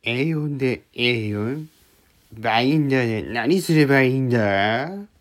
A4 で A4? バインダーで何すればいいんだ？